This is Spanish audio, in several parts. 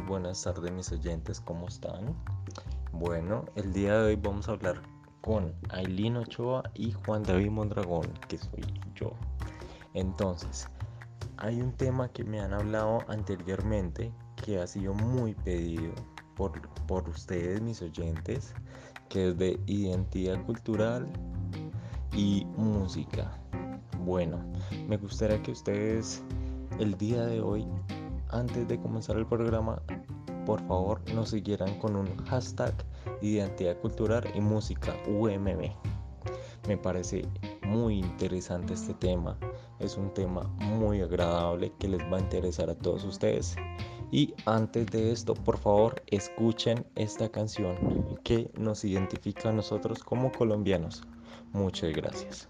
buenas tardes mis oyentes, ¿cómo están? Bueno, el día de hoy vamos a hablar con Ailín Ochoa y Juan David Mondragón, que soy yo. Entonces, hay un tema que me han hablado anteriormente que ha sido muy pedido por ustedes, mis oyentes, que es de identidad cultural y música. Bueno, me gustaría que ustedes el día de hoy, antes de comenzar el programa, por favor nos siguieran con un hashtag identidad cultural y música UMB. Me parece muy interesante este tema, es un tema muy agradable que les va a interesar a todos ustedes. Y antes de esto, por favor, escuchen esta canción que nos identifica a nosotros como colombianos. Muchas gracias.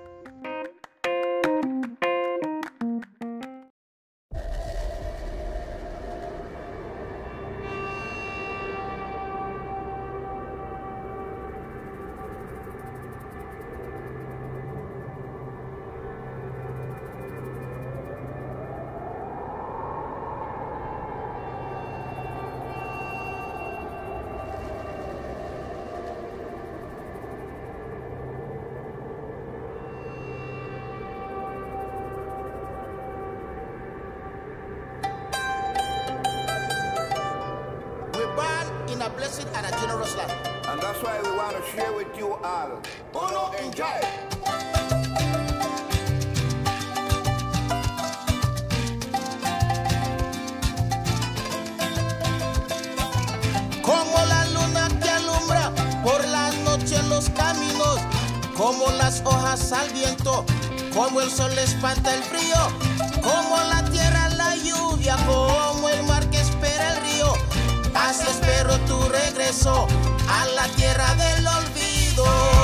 In a blessed and a generous land. And that's why we want to share with you all. Uno, enjoy. Como la luna que alumbra por la noche en los caminos, como las hojas al viento, como el sol espanta el frío, como la tierra la lluvia, como el mar que espera el río. Así espero tu regreso a la tierra del olvido.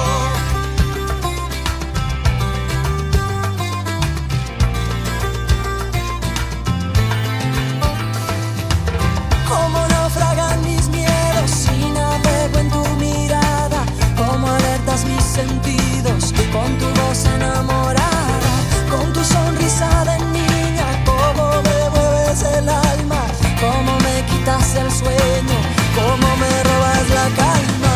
Como naufragan mis miedos si navego en tu mirada, como alertas mis sentidos con tu voz enamorada, con tu sonrisa de niña, como me mueves el alma, como me quitas el sueño, como me robas la calma.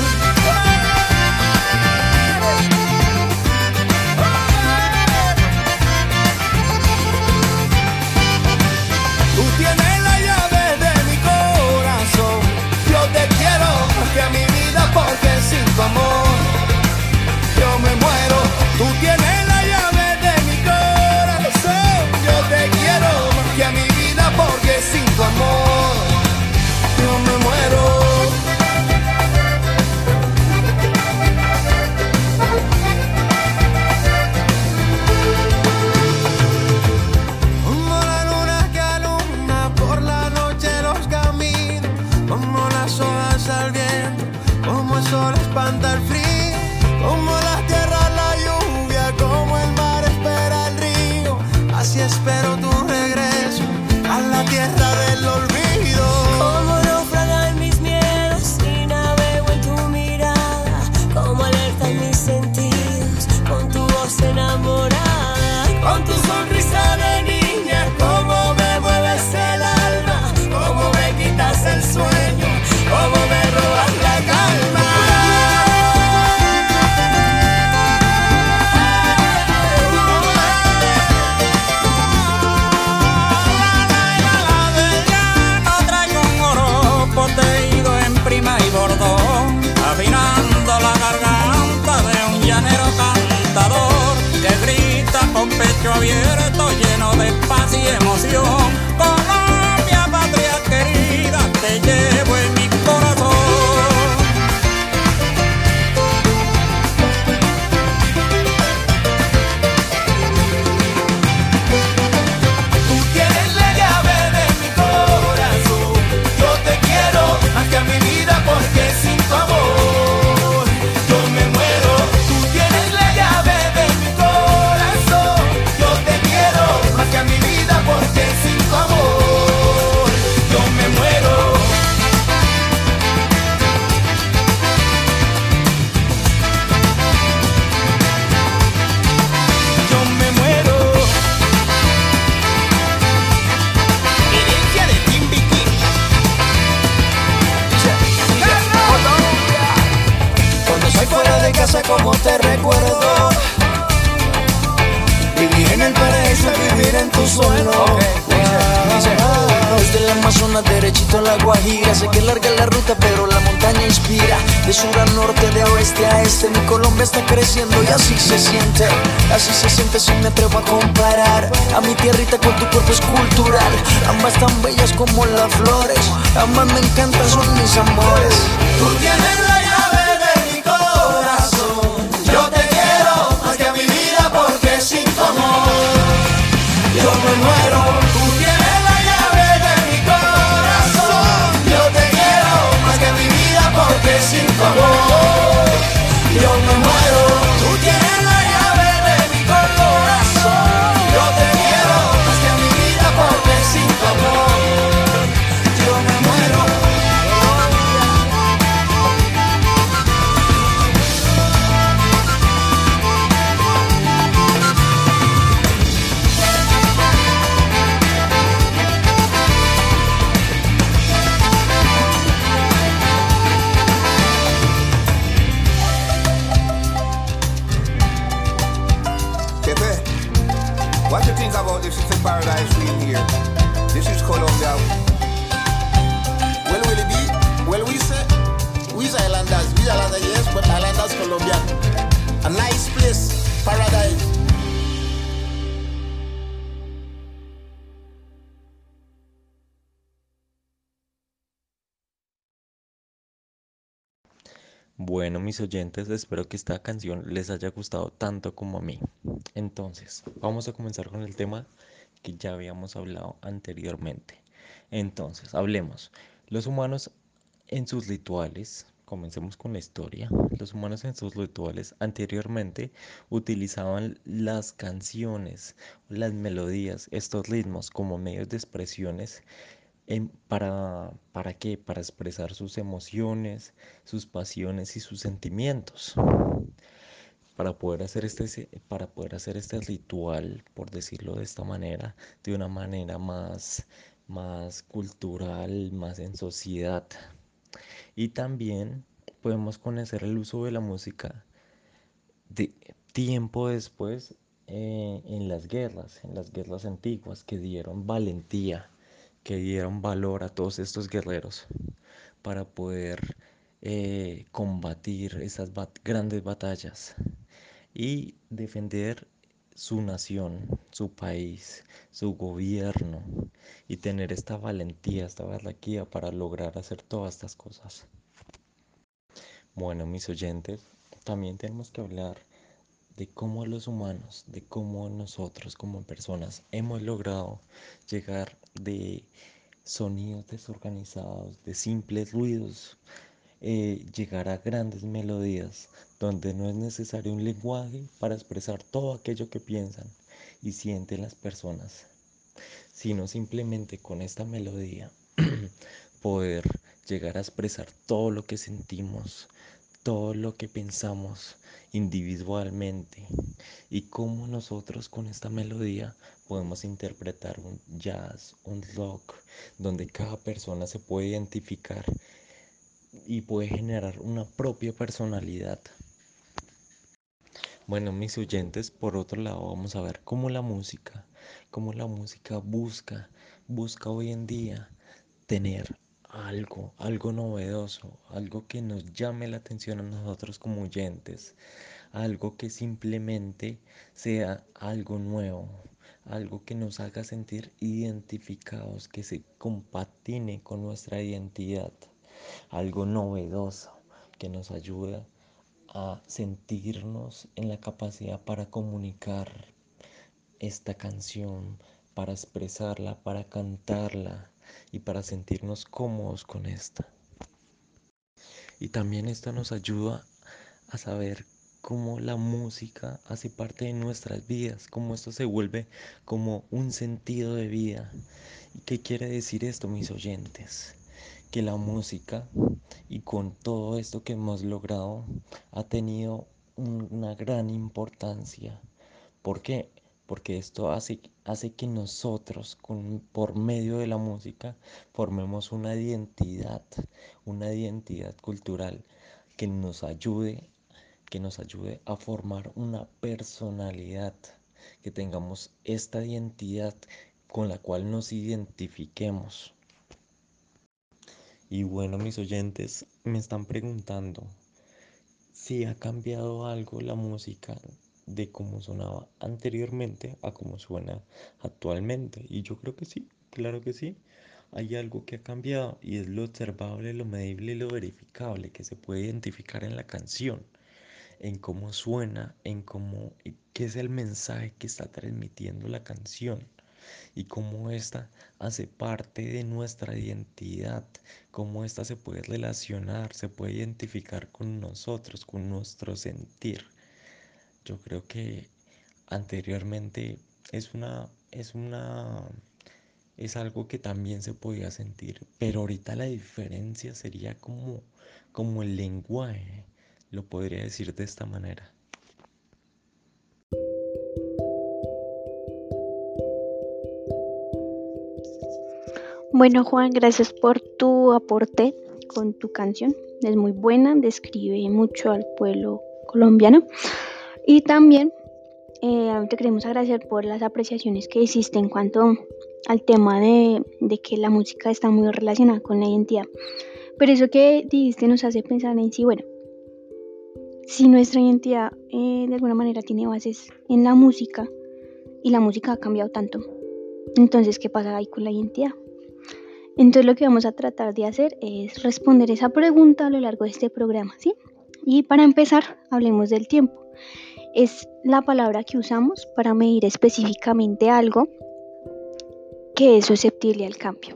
Tú tienes la llave de mi corazón. Yo te quiero más que a mi vida porque sin tu amor yo me muero. Tú tienes la llave de mi corazón. Yo te quiero más que a mi vida porque sin tu amor yo me muero. Como la luna que alumbra por la noche los caminos, como las hojas al viento, como el sol espanta el frío, como la tierra la lluvia, como el mar espera el río. Así espero tu regreso a la tierra del olvido. Como naufragan mis miedos si navego en tu mirada, como alertan mis sentidos con tu voz enamorada, con tu sonrisa de niña, como me mueves el alma, como me quitas el sueño, como me robas la calma. No traigo un oro poteído en prima y bordón, afinando la garganta de un llanero cantador que grita con pecho abierto, lleno de paz y emoción. Colombia, patria querida, te llevo en mi corazón. Tú tienes la llave de mi corazón. Yo te quiero más que a mi vida porque sin tu amor yo me muero. Tú tienes la llave de mi corazón. Yo te quiero más que a mi vida porque sin tu amor en tu suelo. Desde el Amazonas derechito a la Guajira, sé que es larga la ruta pero la montaña inspira. De sur a norte, de oeste a este, mi Colombia está creciendo y así se siente si me atrevo a comparar a mi tierrita con tu cuerpo escultural. Ambas tan bellas como las flores, ambas me encantan, son mis amores. Tú tienes la llave de mi corazón. Yo te quiero más que a mi vida porque sin tu amor yo me muero. Tú tienes la llave de mi corazón. Yo te quiero más que a mi vida porque sin tu amor yo me muero. Tú tienes la llave de mi corazón. Yo te quiero más que a mi vida porque sin tu amor yo me muero. Pepe, what do you think about this? It's a paradise we in here. This is Colombia. Well, will it be? Well, we's islanders, yes, but islanders Colombian. A nice place, paradise. Bueno, mis oyentes, espero que esta canción les haya gustado tanto como a mí. Entonces, vamos a comenzar con el tema que ya habíamos hablado anteriormente. Entonces, hablemos. Los humanos en sus rituales, comencemos con la historia. Los humanos en sus rituales anteriormente utilizaban las canciones, las melodías, estos ritmos como medios de expresiones ¿para qué? Para expresar sus emociones, sus pasiones y sus sentimientos. Para poder hacer este ritual, por decirlo de esta manera, de una manera más cultural, más en sociedad. Y también podemos conocer el uso de la música de tiempo después en las guerras antiguas que dieron valentía, que dieron valor a todos estos guerreros para poder combatir esas grandes batallas y defender su nación, su país, su gobierno y tener esta valentía, esta barraquía para lograr hacer todas estas cosas. Bueno, mis oyentes, también tenemos que hablar de cómo los humanos, de cómo nosotros como personas hemos logrado llegar de sonidos desorganizados, de simples ruidos, llegar a grandes melodías, donde no es necesario un lenguaje para expresar todo aquello que piensan y sienten las personas, sino simplemente con esta melodía poder llegar a expresar todo lo que sentimos, todo lo que pensamos individualmente y cómo nosotros con esta melodía podemos interpretar un jazz, un rock, donde cada persona se puede identificar y puede generar una propia personalidad. Bueno, mis oyentes, por otro lado, vamos a ver cómo la música busca hoy en día tener algo novedoso, algo que nos llame la atención a nosotros como oyentes, algo que simplemente sea algo nuevo, algo que nos haga sentir identificados, que se compatine con nuestra identidad, algo novedoso que nos ayude a sentirnos en la capacidad para comunicar esta canción, para expresarla, para cantarla y para sentirnos cómodos con esta. Y también esto nos ayuda a saber cómo la música hace parte de nuestras vidas, cómo esto se vuelve como un sentido de vida. ¿Y qué quiere decir esto, mis oyentes? Que la música, y con todo esto que hemos logrado, ha tenido una gran importancia. ¿Por qué? Porque esto hace que nosotros, por medio de la música, formemos una identidad cultural que nos ayude a formar una personalidad que tengamos esta identidad con la cual nos identifiquemos. Y bueno, mis oyentes me están preguntando si ha cambiado algo la música de cómo sonaba anteriormente a cómo suena actualmente. Y yo creo que sí, claro que sí. Hay algo que ha cambiado y es lo observable, lo medible y lo verificable que se puede identificar en la canción, en cómo suena, en cómo, qué es el mensaje que está transmitiendo la canción y cómo ésta hace parte de nuestra identidad, cómo ésta se puede relacionar, se puede identificar con nosotros, con nuestro sentir. Yo creo que anteriormente es algo que también se podía sentir, pero ahorita la diferencia sería como el lenguaje, lo podría decir de esta manera. Bueno, Juan, gracias por tu aporte con tu canción. Es muy buena, describe mucho al pueblo colombiano. Y también te queremos agradecer por las apreciaciones que hiciste en cuanto al tema de que la música está muy relacionada con la identidad. Pero eso que dijiste nos hace pensar en sí, bueno, si nuestra identidad de alguna manera tiene bases en la música y la música ha cambiado tanto, entonces, ¿qué pasa ahí con la identidad? Entonces lo que vamos a tratar de hacer es responder esa pregunta a lo largo de este programa, ¿sí? Y para empezar, hablemos del tiempo. Es la palabra que usamos para medir específicamente algo que es susceptible al cambio.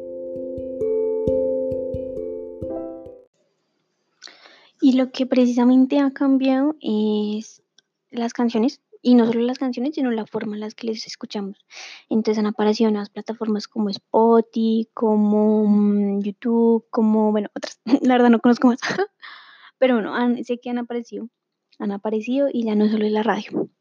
Y lo que precisamente ha cambiado es las canciones, y no solo las canciones, sino la forma en la que les escuchamos. Entonces han aparecido nuevas plataformas como Spotify, como YouTube, como, bueno, otras, la verdad no conozco más, pero bueno, sé que han aparecido y ya no solo es la radio.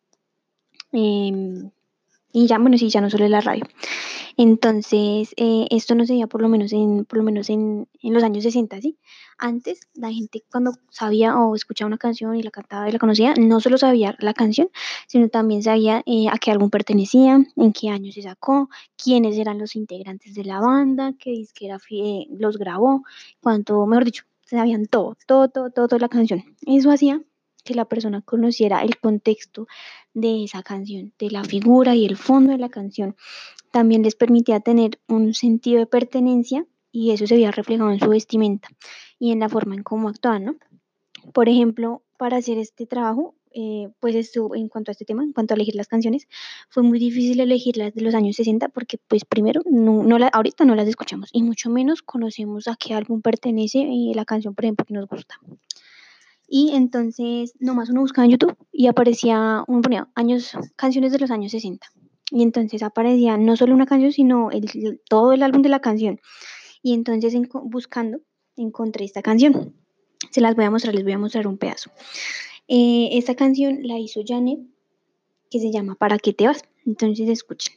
Y ya, bueno, sí, ya no solo es la radio. Entonces, esto no se veía por lo menos en los años 60, ¿sí? Antes, la gente cuando sabía o escuchaba una canción y la cantaba y la conocía, no solo sabía la canción, sino también sabía a qué álbum pertenecía, en qué año se sacó, quiénes eran los integrantes de la banda, qué disquera los grabó, cuánto, mejor dicho, sabían todo de la canción. Eso hacía que la persona conociera el contexto de esa canción, de la figura y el fondo de la canción. También les permitía tener un sentido de pertenencia y eso se veía reflejado en su vestimenta y en la forma en cómo actuaban, ¿no? Por ejemplo, para hacer este trabajo, pues esto, en cuanto a este tema, en cuanto a elegir las canciones, fue muy difícil elegir las de los años 60 porque pues primero, ahorita no las escuchamos y mucho menos conocemos a qué álbum pertenece la canción, por ejemplo, que nos gusta. Y entonces nomás uno buscaba en YouTube y aparecía, uno ponía canciones de los años 60. Y entonces aparecía no solo una canción, sino todo el álbum de la canción. Y entonces buscando encontré esta canción. Se las voy a mostrar, les voy a mostrar un pedazo. Esta canción la hizo Janet, que se llama ¿Para qué te vas? Entonces escuchen.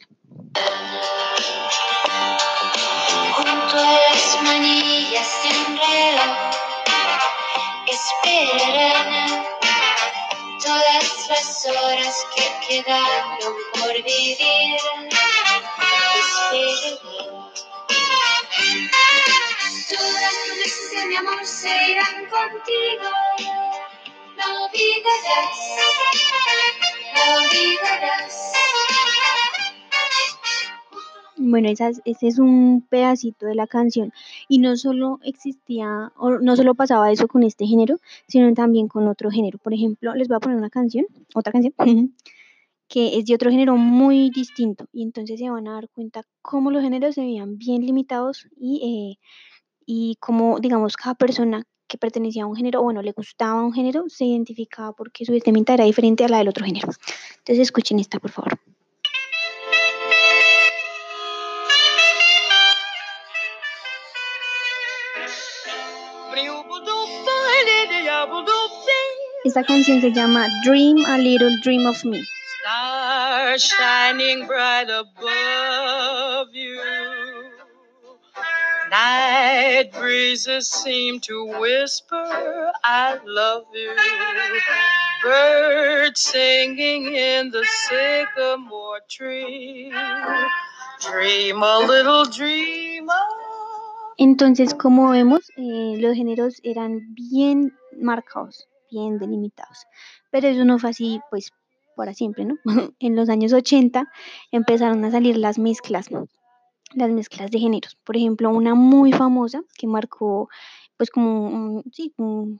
Junto a las manillas de un reloj esperarán todas las horas que quedaron por vivir. Esperarán. Todas tus veces de mi amor se irán contigo. No olvidarás, no olvidarás. Bueno, ese es un pedacito de la canción y no solo existía o no solo pasaba eso con este género, sino también con otro género. Por ejemplo, les voy a poner otra canción que es de otro género muy distinto y entonces se van a dar cuenta cómo los géneros se veían bien limitados y cómo, digamos, cada persona que pertenecía a un género o bueno, le gustaba un género, se identificaba porque su vestimenta era diferente a la del otro género. Entonces escuchen esta, por favor. Esta canción se llama Dream a Little Dream of Me. Stars shining bright above you. Night breezes seem to whisper, I love you. Birds singing in the sycamore tree. Dream a little dreamer. Entonces, como vemos, los géneros eran bien marcados, bien delimitados. Pero eso no fue así, pues, para siempre, ¿no? En los años 80 empezaron a salir las mezclas de géneros. Por ejemplo, una muy famosa que marcó, pues, como sí,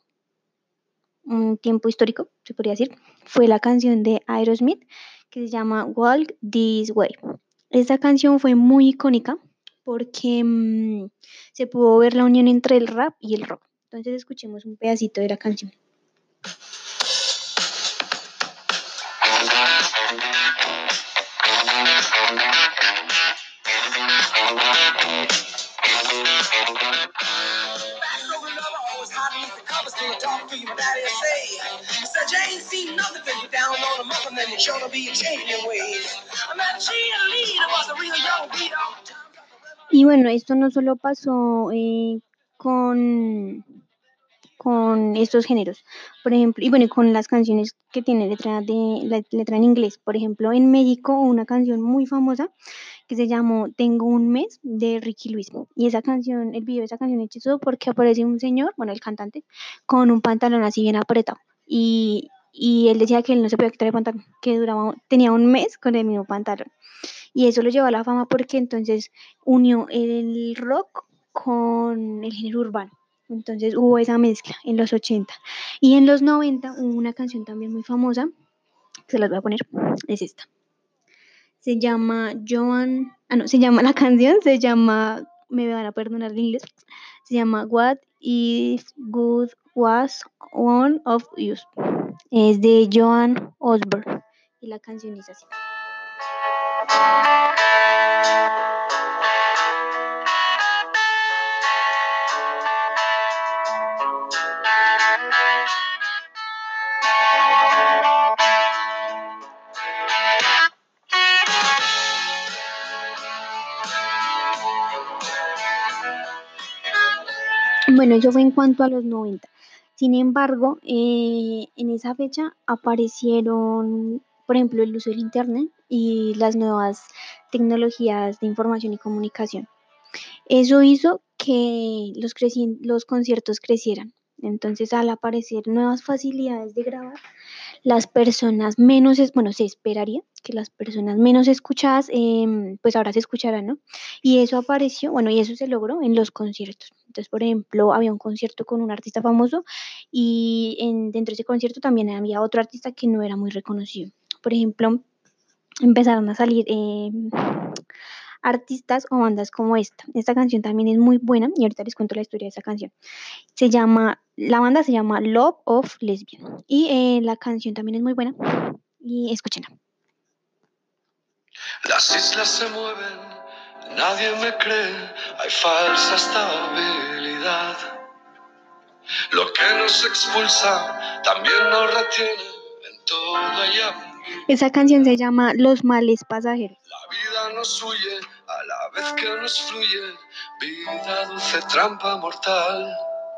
un tiempo histórico, se podría decir, fue la canción de Aerosmith que se llama Walk This Way. Esta canción fue muy icónica porque se pudo ver la unión entre el rap y el rock. Entonces escuchemos un pedacito de la canción. Y bueno, esto no solo pasó con, con estos géneros, por ejemplo, y bueno, y con las canciones que tienen letra en inglés. Por ejemplo, en México, una canción muy famosa que se llamó Tengo un mes de Ricky Luis. Y esa canción, el video de esa canción es chistoso porque aparece un señor, bueno, el cantante, con un pantalón así bien apretado. Y él decía que él no se podía quitar el pantalón, que tenía un mes con el mismo pantalón. Y eso lo llevó a la fama porque entonces unió el rock con el género urbano. Entonces hubo esa mezcla en los 80. Y en los 90 hubo una canción también muy famosa, que se las voy a poner, es esta. Se llama la canción se llama, me van a perdonar el inglés, se llama What If Good Was One of You. Es de Joan Osborne y la canción es así. Bueno, eso fue en cuanto a los 90. Sin embargo, en esa fecha aparecieron, por ejemplo, el uso del Internet y las nuevas tecnologías de información y comunicación. Eso hizo que los conciertos crecieran. Entonces, al aparecer nuevas facilidades de grabar, las personas menos, bueno, se esperaría que las personas menos escuchadas, pues ahora se escucharán, ¿no? Y eso apareció, bueno, y eso se logró en los conciertos. Entonces, por ejemplo, había un concierto con un artista famoso y dentro de ese concierto también había otro artista que no era muy reconocido. Por ejemplo, empezaron a salir artistas o bandas como esta. Esta canción también es muy buena y ahorita les cuento la historia de esa canción. La banda se llama Love of Lesbian y la canción también es muy buena y escúchenla. Las islas se mueven, nadie me cree, hay falsa estabilidad. Lo que nos expulsa también nos retiene en toda ella. Esa canción se llama Los males pasajeros. La vida nos huye a la vez que nos fluye, vida dulce, trampa mortal.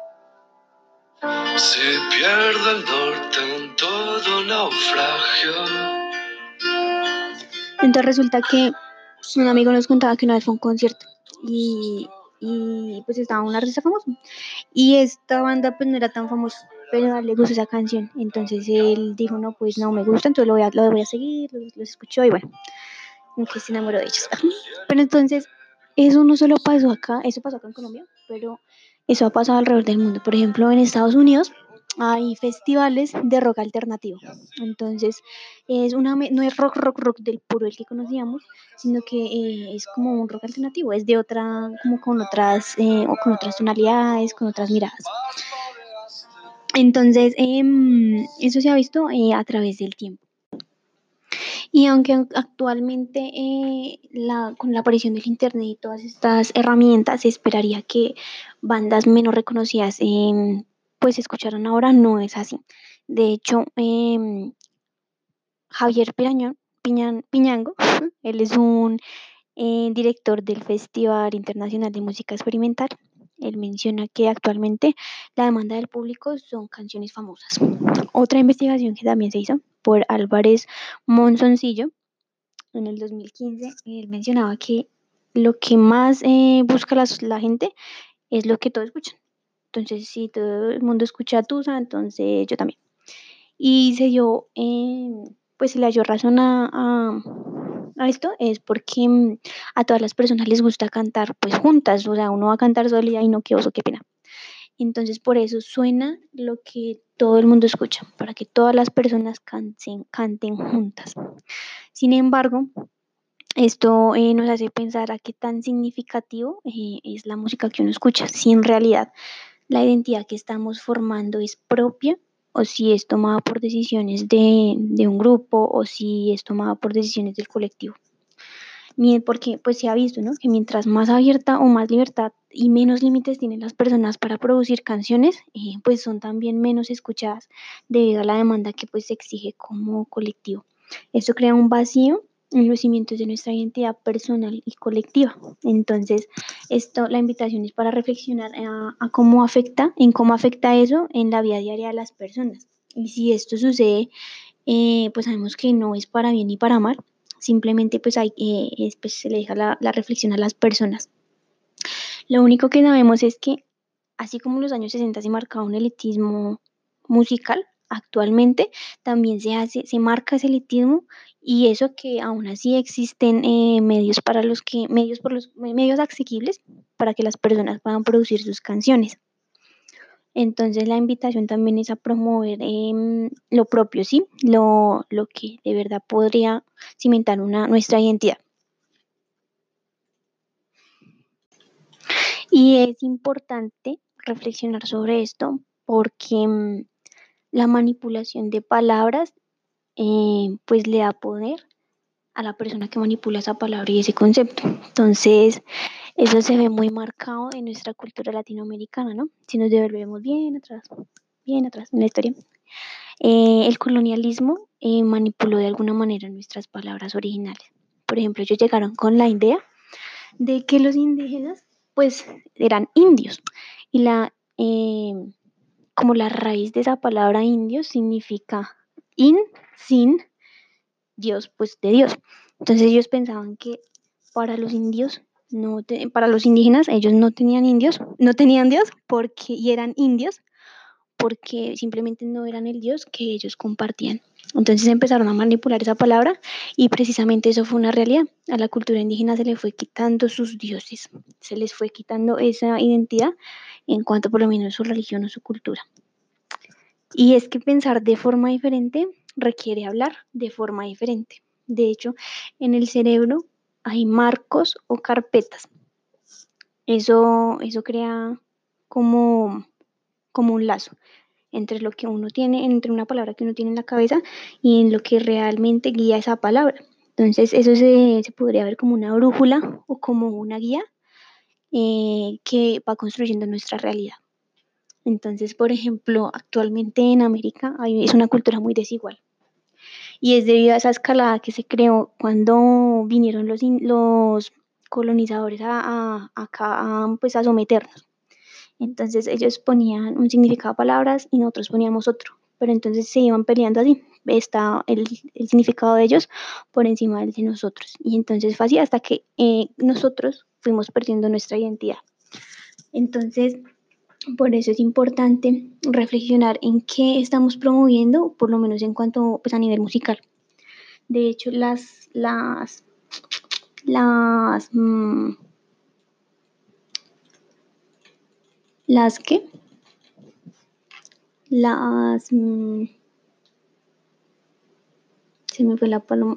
Se pierde el norte en todo naufragio. Entonces resulta que un amigo nos contaba que una vez fue a un concierto y pues estaba un artista famoso y esta banda pues no era tan famosa, pero a él le gustó esa canción. Entonces él dijo, no, pues no me gusta, entonces lo voy a seguir, los escuchó y bueno, como que se enamoró de ellos. Pero entonces eso no solo pasó acá, eso pasó acá en Colombia, pero eso ha pasado alrededor del mundo. Por ejemplo, en Estados Unidos hay festivales de rock alternativo. Entonces, no es rock del puro el que conocíamos, sino que es como un rock alternativo, es de otra, como o con otras tonalidades, con otras miradas. Entonces, eso se ha visto a través del tiempo. Y aunque actualmente con la aparición del Internet y todas estas herramientas se esperaría que bandas menos reconocidas pues se escucharan ahora, no es así. De hecho, Javier Piñango, él es un director del Festival Internacional de Música Experimental. Él menciona que actualmente la demanda del público son canciones famosas. Otra investigación que también se hizo por Álvarez Monzoncillo en el 2015, él mencionaba que lo que más busca la gente es lo que todos escuchan. Entonces, si todo el mundo escucha Tusa, entonces yo también. Y se dio, pues se le dio razón a esto, es porque a todas las personas les gusta cantar pues juntas, o sea, uno va a cantar solo y ay no, qué oso, qué pena. Entonces por eso suena lo que todo el mundo escucha, para que todas las personas canten juntas. Sin embargo, esto nos hace pensar a qué tan significativo es la música que uno escucha, si en realidad la identidad que estamos formando es propia o si es tomada por decisiones de un grupo o si es tomada por decisiones del colectivo. Porque pues se ha visto, ¿no? Que mientras más abierta o más libertad y menos límites tienen las personas para producir canciones, pues son también menos escuchadas debido a la demanda que pues se exige como colectivo. Esto crea un vacío en los cimientos de nuestra identidad personal y colectiva. Entonces, la invitación es para reflexionar a cómo afecta eso en la vida diaria de las personas. Y si esto sucede, pues sabemos que no es para bien ni para mal, simplemente pues, pues se le deja la reflexión a las personas. Lo único que sabemos es que así como en los años 60 se marcaba un elitismo musical, actualmente también se marca ese elitismo y eso que aún así existen medios asequibles para que las personas puedan producir sus canciones. Entonces la invitación también es a promover lo propio, ¿sí? Lo que de verdad podría cimentar nuestra identidad. Y es importante reflexionar sobre esto porque la manipulación de palabras pues le da poder a la persona que manipula esa palabra y ese concepto. Entonces, eso se ve muy marcado en nuestra cultura latinoamericana, ¿no? Si nos devolvemos bien atrás en la historia. El colonialismo manipuló de alguna manera nuestras palabras originales. Por ejemplo, ellos llegaron con la idea de que los indígenas pues eran indios y como la raíz de esa palabra indio significa sin Dios, pues de Dios. Entonces ellos pensaban que para los indios para los indígenas ellos no tenían Dios y eran indios porque simplemente no eran el Dios que ellos compartían. Entonces empezaron a manipular esa palabra y precisamente eso fue una realidad. A la cultura indígena se le fue quitando sus dioses, se les fue quitando esa identidad en cuanto por lo menos su religión o su cultura. Y es que pensar de forma diferente requiere hablar de forma diferente. De hecho, en el cerebro hay marcos o carpetas. Eso crea como un lazo entre lo que uno tiene, entre una palabra que uno tiene en la cabeza y en lo que realmente guía esa palabra. Entonces, eso se podría ver como una brújula o como una guía que va construyendo nuestra realidad. Entonces, por ejemplo, actualmente en América es una cultura muy desigual. Y es debido a esa escalada que se creó cuando vinieron los colonizadores acá pues a someternos. Entonces ellos ponían un significado a palabras y nosotros poníamos otro. Pero entonces se iban peleando así. Está el significado de ellos por encima del de nosotros. Y entonces fue así hasta que nosotros fuimos perdiendo nuestra identidad. Entonces, por eso es importante reflexionar en qué estamos promoviendo, por lo menos en cuanto pues, a nivel musical. De hecho, ¿las qué? Se me fue la paloma.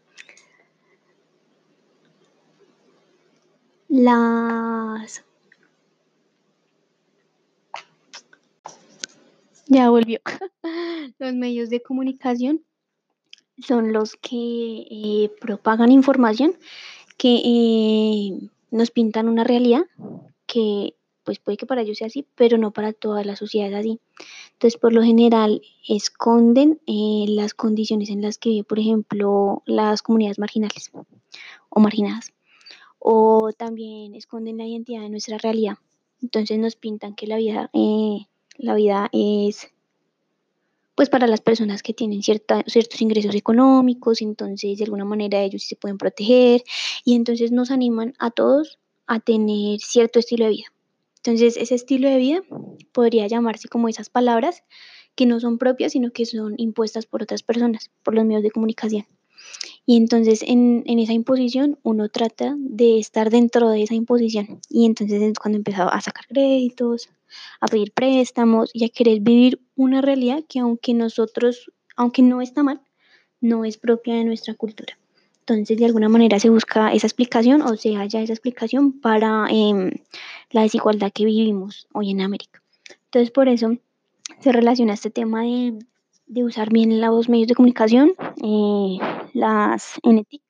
Ya volvió. Los medios de comunicación son los que propagan información que nos pintan una realidad que pues puede que para ellos sea así, pero no para toda la sociedad es así. Entonces, por lo general, esconden las condiciones en las que viven, por ejemplo, las comunidades marginales o marginadas. o también esconden la identidad de nuestra realidad. Entonces nos pintan que la vida es pues para las personas que tienen ciertos ingresos económicos, entonces de alguna manera ellos sí se pueden proteger y entonces nos animan a todos a tener cierto estilo de vida. Entonces ese estilo de vida podría llamarse como esas palabras que no son propias, sino que son impuestas por otras personas, por los medios de comunicación. Y entonces en esa imposición uno trata de estar dentro de esa imposición. Y entonces es cuando empezaba a sacar créditos, a pedir préstamos y a querer vivir una realidad que aunque no está mal, no es propia de nuestra cultura. Entonces de alguna manera se busca esa explicación o se halla esa explicación para la desigualdad que vivimos hoy en América. Entonces por eso se relaciona este tema de usar bien los medios de comunicación, las NTIC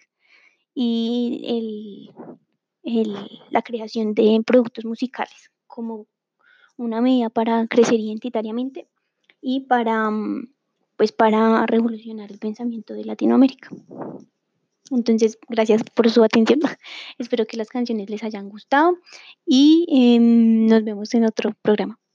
y la creación de productos musicales como una medida para crecer identitariamente y pues para revolucionar el pensamiento de Latinoamérica. Entonces, gracias por su atención. Espero que las canciones les hayan gustado y nos vemos en otro programa.